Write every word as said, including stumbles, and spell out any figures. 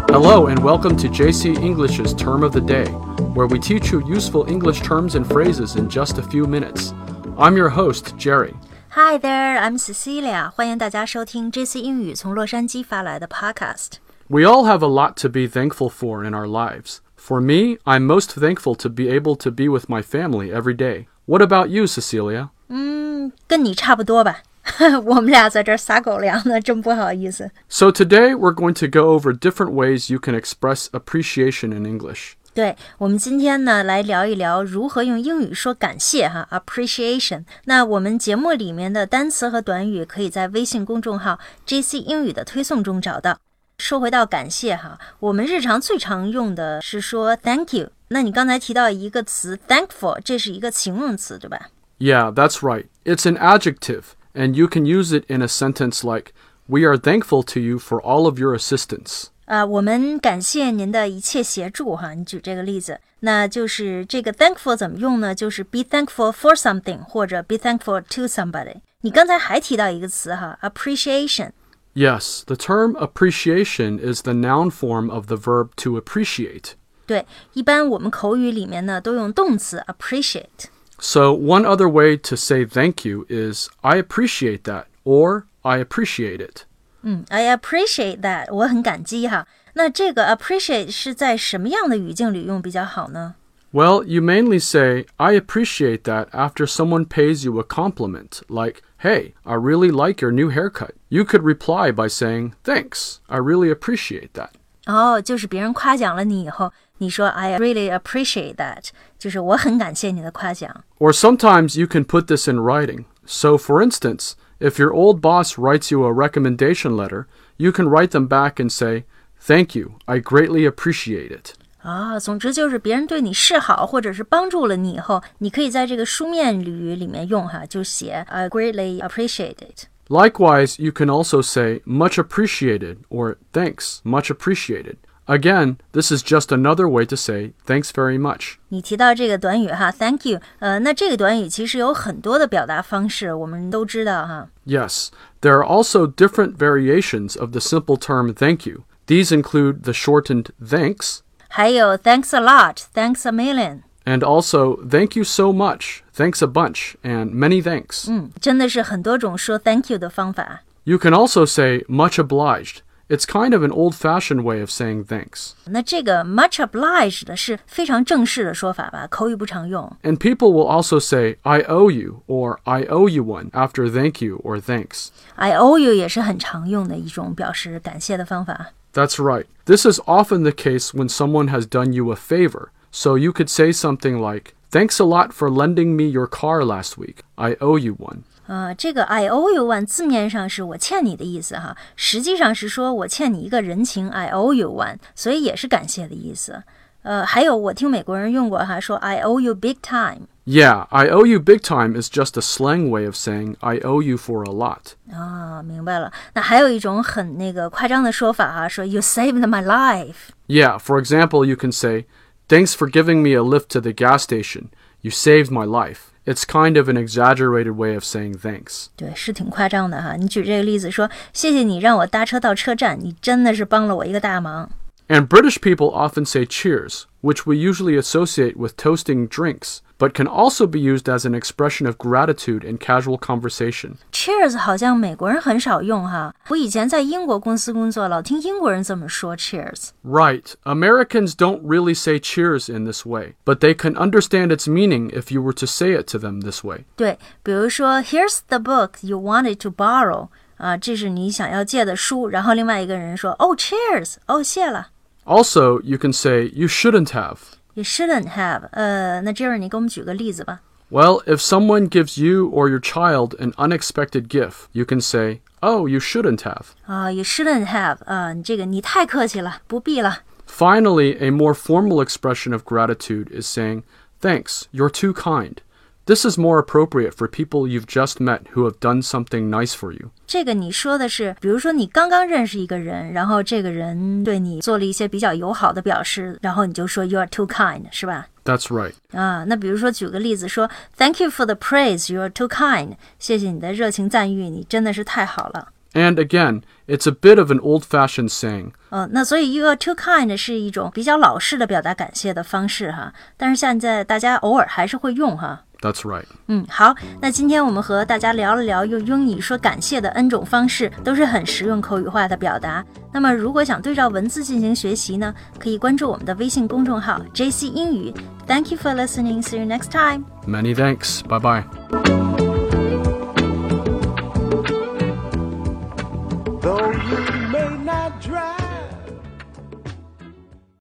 Hello and welcome to J C English's Term of the Day, where we teach you useful English terms and phrases in just a few minutes. I'm your host, Jerry. Hi there, I'm Cecilia. 欢迎大家收听 J C 英语从洛杉矶发来的 podcast. We all have a lot to be thankful for in our lives. For me, I'm most thankful to be able to be with my family every day. What about you, Cecilia? 嗯，跟你差不多吧。我们俩在这儿撒狗粮呢，真不好意思。 So today we're going to go over different ways you can express appreciation in English. 对，我们今天呢来聊一聊如何用英语说感谢哈 appreciation。那我们节目里面的单词和短语可以在微信公众号 J C 英语的推送中找到。说回到感谢哈，我们日常最常用的是说 thank you。那你刚才提到一个词 thankful， 这是一个形容词对吧？ Yeah, that's right. It's an adjective.And you can use it in a sentence like, We are thankful to you for all of your assistance. 啊、uh, 我们感谢您的一切协助哈，你举这个例子，那就是这个 thankful 怎么用呢？就是 be thankful for something 或者 be thankful to somebody. 你刚才还提到一个词哈 appreciation. Yes, the term appreciation is the noun form of the verb to appreciate. 对，一般我们口语里面呢都用动词 appreciate.So one other way to say thank you is I appreciate that or I appreciate it. 嗯 I appreciate that 我很感激哈。那这个 appreciate 是在什么样的语境里用比较好呢？ Well, you mainly say I appreciate that after someone pays you a compliment, like, Hey, I really like your new haircut. You could reply by saying, Thanks, I really appreciate that. 哦，就是别人夸奖了你以后，你说 I really appreciate that， 就是我很感谢你的夸奖。 Or sometimes you can put this in writing. So for instance, if your old boss writes you a recommendation letter, you can write them back and say, Thank you, I greatly appreciate it. 啊、哦，总之就是别人对你示好或者是帮助了你以后，你可以在这个书面语里面用哈，就写 I greatly appreciate it。Likewise, you can also say much appreciated or thanks, much appreciated. Again, this is just another way to say thanks very much. 你提到这个短语哈 thank you 呃，那这个短语其实有很多的表达方式，我们都知道哈。 Yes, there are also different variations of the simple term thank you. These include the shortened thanks, 还有 thanks a lot, thanks a million, and also thank you so much, thanks a bunch, and many thanks. 嗯，真的是很多种说 thank you 的方法。 You can also say much obliged. It's kind of an old-fashioned way of saying thanks. 那这个 much obliged 是非常正式的说法吧，口语不常用。 And people will also say I owe you or I owe you one after thank you or thanks. I owe you 也是很常用的一种表示感谢的方法。 That's right. This is often the case when someone has done you a favor. So you could say something like, Thanks a lot for lending me your car last week. I owe you one. 呃，这个 I owe you one 字面上是我欠你的意思哈，实际上是说我欠你一个人情 I owe you one， 所以也是感谢的意思。呃，还有我听美国人用过哈，说 I owe you big time。 Yeah, I owe you big time is just a slang way of saying I owe you for a lot. 啊，明白了。那还有一种很那个夸张的说法哈，说 You saved my life。 Yeah, for example, you can say, Thanks for giving me a lift to the gas station. You saved my life.It's kind of an exaggerated way of saying thanks. 对，是挺夸张的哈。你举这个例子说，谢谢你让我搭车到车站，你真的是帮了我一个大忙。 And British people often say cheers, which we usually associate with toasting drinks, but can also be used as an expression of gratitude in casual conversation. Cheers 好像美国人很少用哈。我以前在英国公司工作，老听英国人这么说 cheers。 Right. Americans don't really say cheers in this way, but they can understand its meaning if you were to say it to them this way. 对，比如说 Here's the book you wanted to borrow 啊，这是你想要借的书，然后另外一个人说 Oh cheers， 哦谢了。 Also, you can say you shouldn't have. You shouldn't have. 呃，那 Jerry 你给我们举个例子吧。 Well, if someone gives you or your child an unexpected gift, you can say, Oh, you shouldn't have. 啊、uh, You shouldn't have. 啊、uh, 这个你太客气了，不必了。 Finally, a more formal expression of gratitude is saying, Thanks, you're too kind. This is more appropriate for people you've just met who have done something nice for you. 这个你说的是，比如说你刚刚认识一个人，然后这个人对你做了一些比较友好的表示，然后你就说 You are too kind， 是吧？ That's right. 啊，那比如说举个例子说 Thank you for the praise, you are too kind. 谢谢你的热情赞誉，你真的是太好了。 And again, it's a bit of an old-fashioned saying. 呃，那所以 you are too kind 是一种比较老式的表达感谢的方式哈，但是现在大家偶尔还是会用哈。 That's right. 嗯，好，那今天我们和大家聊了聊用英语说感谢的 N 种方式，都是很实用口语化的表达。那么如果想对照文字进行学习呢，可以关注我们的微信公众号 J C 英语。Thank you for listening. See you next time. Many thanks. Bye-bye.